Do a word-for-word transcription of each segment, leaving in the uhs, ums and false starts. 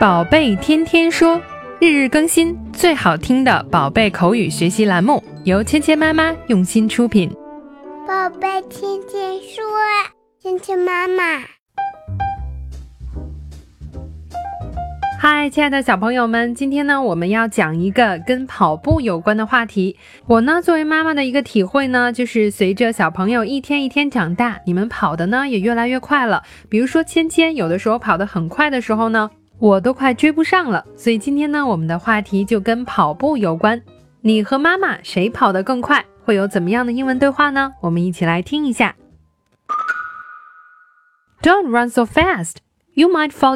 宝贝天天说，日日更新，最好听的宝贝口语学习栏目，由芊芊妈妈用心出品。 宝贝天天说，芊芊妈妈。 嗨，亲爱的小朋友们，今天呢，我们要讲一个跟跑步有关的话题。我呢，作为妈妈的一个体会呢，就是随着小朋友一天一天长大，你们跑的呢也越来越快了。比如说芊芊有的时候跑得很快的时候呢，我都快追不上了。所以今天呢，我们的话题就跟跑步有关。你和妈妈谁跑得更快？会有怎么样的英文对话呢？我们一起来听一下。Don't run so fast. You might fall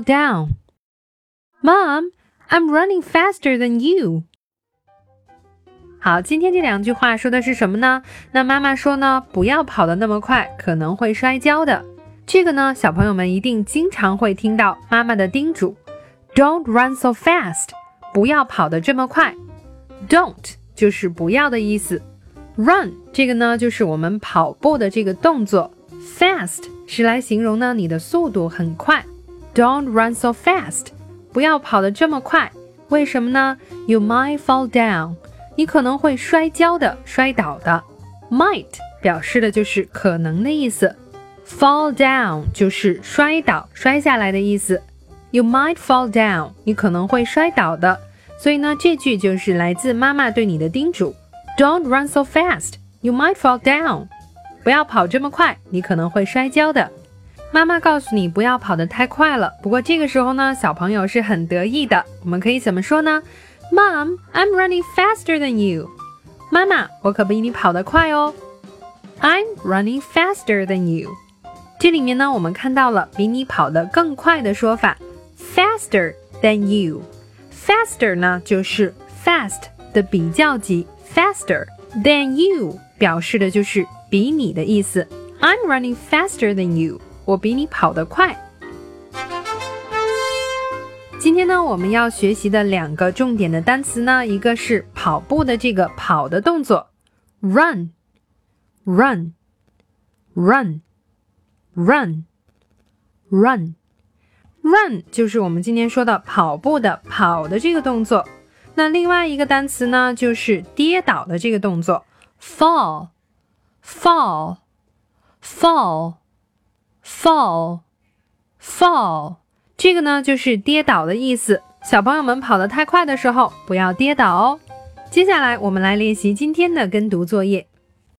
down.Mom, I'm running faster than you. 好，今天这两句话说的是什么呢？那妈妈说呢，不要跑得那么快，可能会摔跤的。这个呢，小朋友们一定经常会听到妈妈的叮嘱。Don't run so fast. 不要跑得这么快。Don't 就是不要的意思。Run 这个呢，就是我们跑步的这个动作。Fast 是来形容呢你的速度很快。Don't run so fast.不要跑得这么快，为什么呢？ You might fall down. 你可能会摔跤的，摔倒的。Might 表示的就是可能的意思。Fall down 就是摔倒，摔下来的意思。You might fall down. 你可能会摔倒的。所以呢，这句就是来自妈妈对你的叮嘱。Don't run so fast. You might fall down. 不要跑这么快，你可能会摔跤的。妈妈告诉你不要跑得太快了，不过这个时候呢，小朋友是很得意的。我们可以怎么说呢？ Mom, I'm running faster than you. 妈妈，我可比你跑得快哦。I'm running faster than you. 这里面呢，我们看到了比你跑得更快的说法 faster than you. Faster 呢，就是 fast 的比较级 faster than you 表示的就是比你的意思。I'm running faster than you.我比你跑得快。今天呢，我们要学习的两个重点的单词呢，一个是跑步的这个跑的动作 run run run run run run 就是我们今天说的跑步的跑的这个动作。那另外一个单词呢，就是跌倒的这个动作 fall fall fall fall fall 这个呢就是跌倒的意思。小朋友们跑得太快的时候不要跌倒哦。接下来我们来练习今天的跟读作业。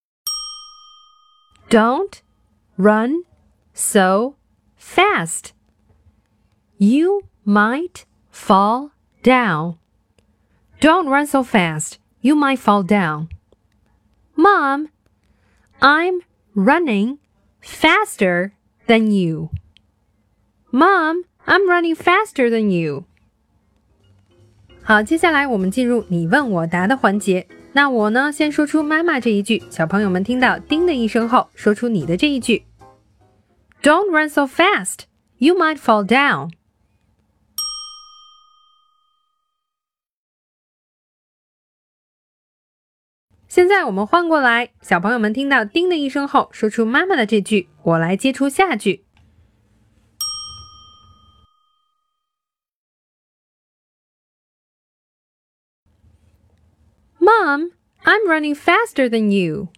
Don't run so fast. You might fall down. Don't run so fast. You might fall down. Mom, I'm running faster than you. Mom, I'm running faster than you. 好，接下来我们进入你问我答的环节。那我呢，先说出妈妈这一句，小朋友们听到叮的一声后，说出你的这一句。Don't run so fast. You might fall down. 现在我们换过来，小朋友们听到叮的一声后，说出妈妈的这句，我来接出下句。Mom, I'm running faster than you.